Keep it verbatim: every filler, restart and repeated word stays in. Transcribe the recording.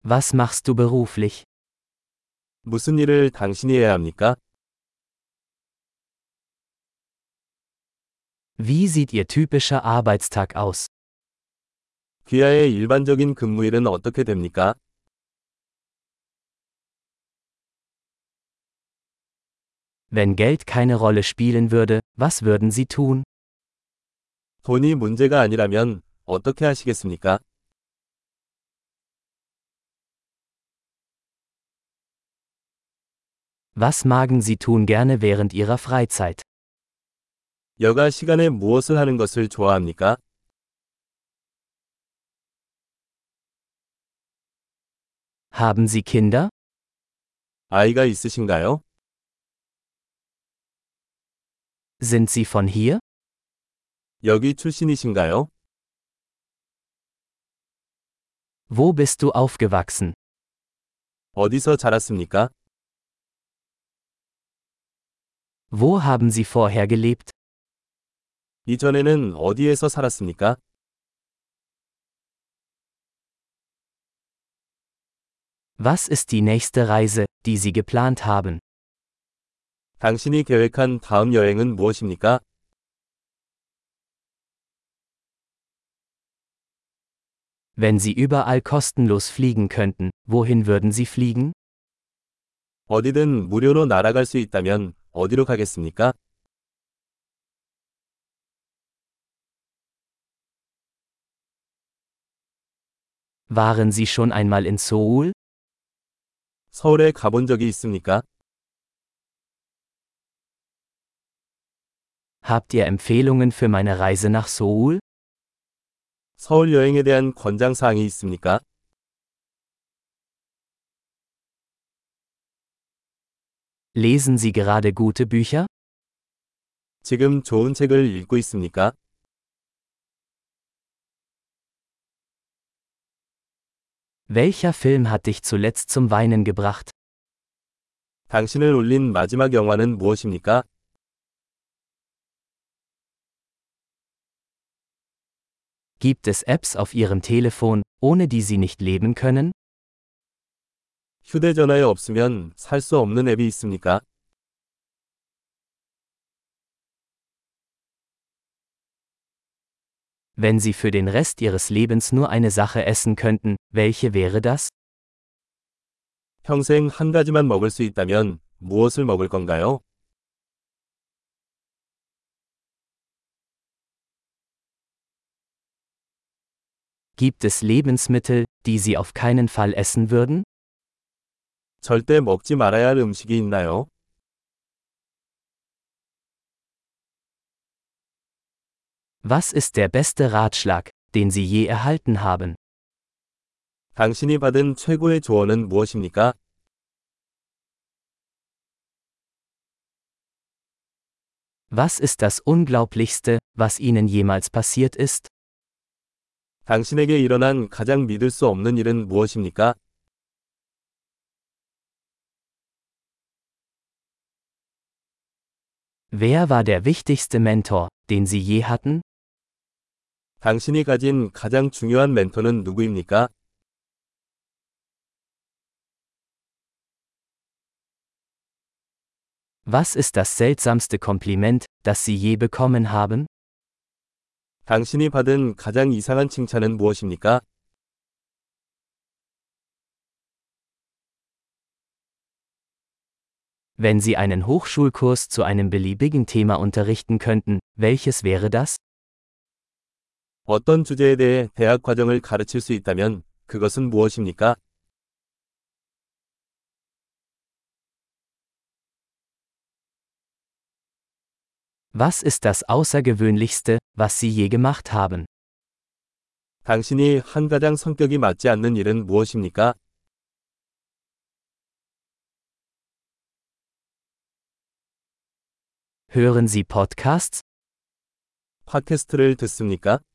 Was machst du beruflich? 무슨 일을 당신이 해야 합니까? Wie sieht Ihr typischer Arbeitstag aus? 귀하의 일반적인 근무일은 어떻게 됩니까? Wenn Geld keine Rolle spielen würde, was würden Sie tun? 돈이 문제가 아니라면 어떻게 하시겠습니까? Was magen Sie tun gerne während Ihrer Freizeit? 여가 시간에 무엇을 하는 것을 좋아합니까? Haben Sie Kinder? 아이가 있으신가요? Sind Sie von hier? 여기 출신이신가요? Wo bist du aufgewachsen? 어디서 자랐습니까? Wo haben Sie vorher gelebt? 이전에는 어디에서 살았습니까? Was ist die nächste Reise, die Sie geplant haben? 당신이 계획한 다음 여행은 무엇입니까? Wenn Sie überall kostenlos fliegen könnten, wohin würden Sie fliegen? 어디든 무료로 날아갈 수 있다면 어디로 가겠습니까? Waren Sie schon einmal in Seoul? 서울에 가본 적이 있습니까? Habt ihr Empfehlungen für meine Reise nach Seoul? 서울 여행에 대한 권장사항이 있습니까? Lesen Sie gerade gute Bücher? 지금 좋은 책을 읽고 있습니까? Welcher Film hat dich zuletzt zum Weinen gebracht? 당신을 울린 마지막 영화는 무엇입니까? Gibt es Apps auf Ihrem Telefon, ohne die Sie nicht leben können? 휴대전화에 없으면 살 수 없는 앱이 있습니까? Wenn Sie für den Rest Ihres Lebens nur eine Sache essen könnten, welche wäre das? 평생 한 가지만 먹을 수 있다면 무엇을 먹을 건가요? Gibt es Lebensmittel, die Sie auf keinen Fall essen würden? 절대 먹지 말아야 할 음식이 있나요? Was ist der beste Ratschlag, den Sie je erhalten haben? 당신이 받은 최고의 조언은 무엇입니까? Was ist das Unglaublichste, was Ihnen jemals passiert ist? 당신에게 일어난 가장 믿을 수 없는 일은 무엇입니까? Wer war der wichtigste Mentor, den Sie je hatten? 당신이 가진 가장 중요한 멘토는 누구입니까? Was ist das seltsamste Kompliment, das Sie je bekommen haben? 당신이 받은 가장 이상한 칭찬은 무엇입니까? Wenn Sie einen Hochschulkurs zu einem beliebigen Thema unterrichten könnten, welches wäre das? 어떤 주제에 대해 대학 과정을 가르칠 수 있다면 그것은 무엇입니까? Was ist das Außergewöhnlichste, was Sie je gemacht haben? 당신이 한 가장 성격이 맞지 않는 일은 무엇입니까? Hören Sie Podcasts? 팟캐스트를 듣습니까?